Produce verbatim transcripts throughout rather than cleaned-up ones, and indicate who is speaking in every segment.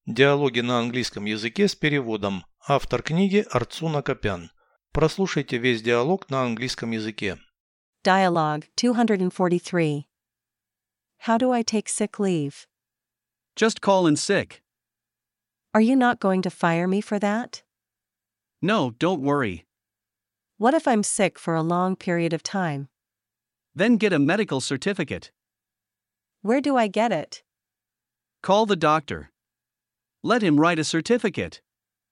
Speaker 1: Диалоги на английском языке с переводом. Автор книги Арцуна Копян. Прослушайте весь диалог на английском языке.
Speaker 2: Dialogue two forty-three. How do I take sick leave?
Speaker 3: Just call in sick.
Speaker 2: Are you not going to fire me for that?
Speaker 3: No, don't worry.
Speaker 2: What if I'm sick for a long period of time?
Speaker 3: Then get a medical certificate.
Speaker 2: Where do I get it?
Speaker 3: Call the doctor. Let him write a certificate.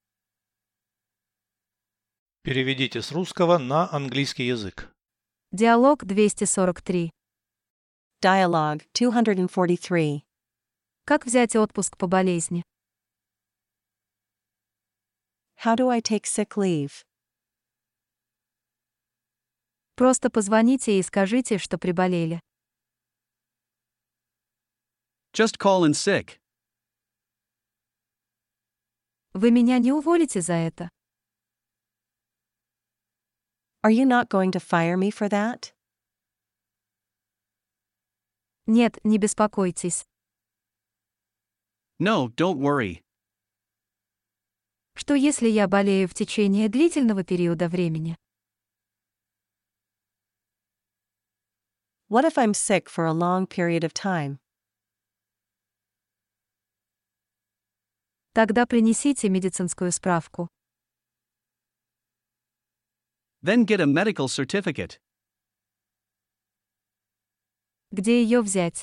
Speaker 1: Переведите с русского на английский язык.
Speaker 4: Диалог двести сорок три.
Speaker 2: Dialogue two forty-three.
Speaker 4: Как взять отпуск по болезни?
Speaker 2: How do I take sick leave?
Speaker 4: Просто позвоните и скажите, что приболели.
Speaker 3: Just call in sick.
Speaker 4: Вы меня не уволите за это?
Speaker 2: Are you not going to fire me for that?
Speaker 4: Нет, не беспокойтесь.
Speaker 3: No, don't worry.
Speaker 4: Что если я болею в течение длительного периода времени?
Speaker 2: What if I'm sick for a long period of time?
Speaker 4: Тогда принесите медицинскую справку.
Speaker 3: Then get a medical certificate.
Speaker 4: Где ее взять?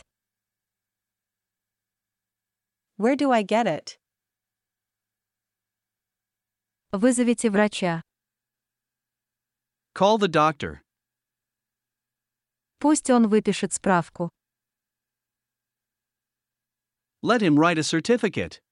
Speaker 2: Where do I get it?
Speaker 4: Вызовите врача.
Speaker 3: Call the doctor.
Speaker 4: Пусть он выпишет справку.
Speaker 3: Let him write a certificate.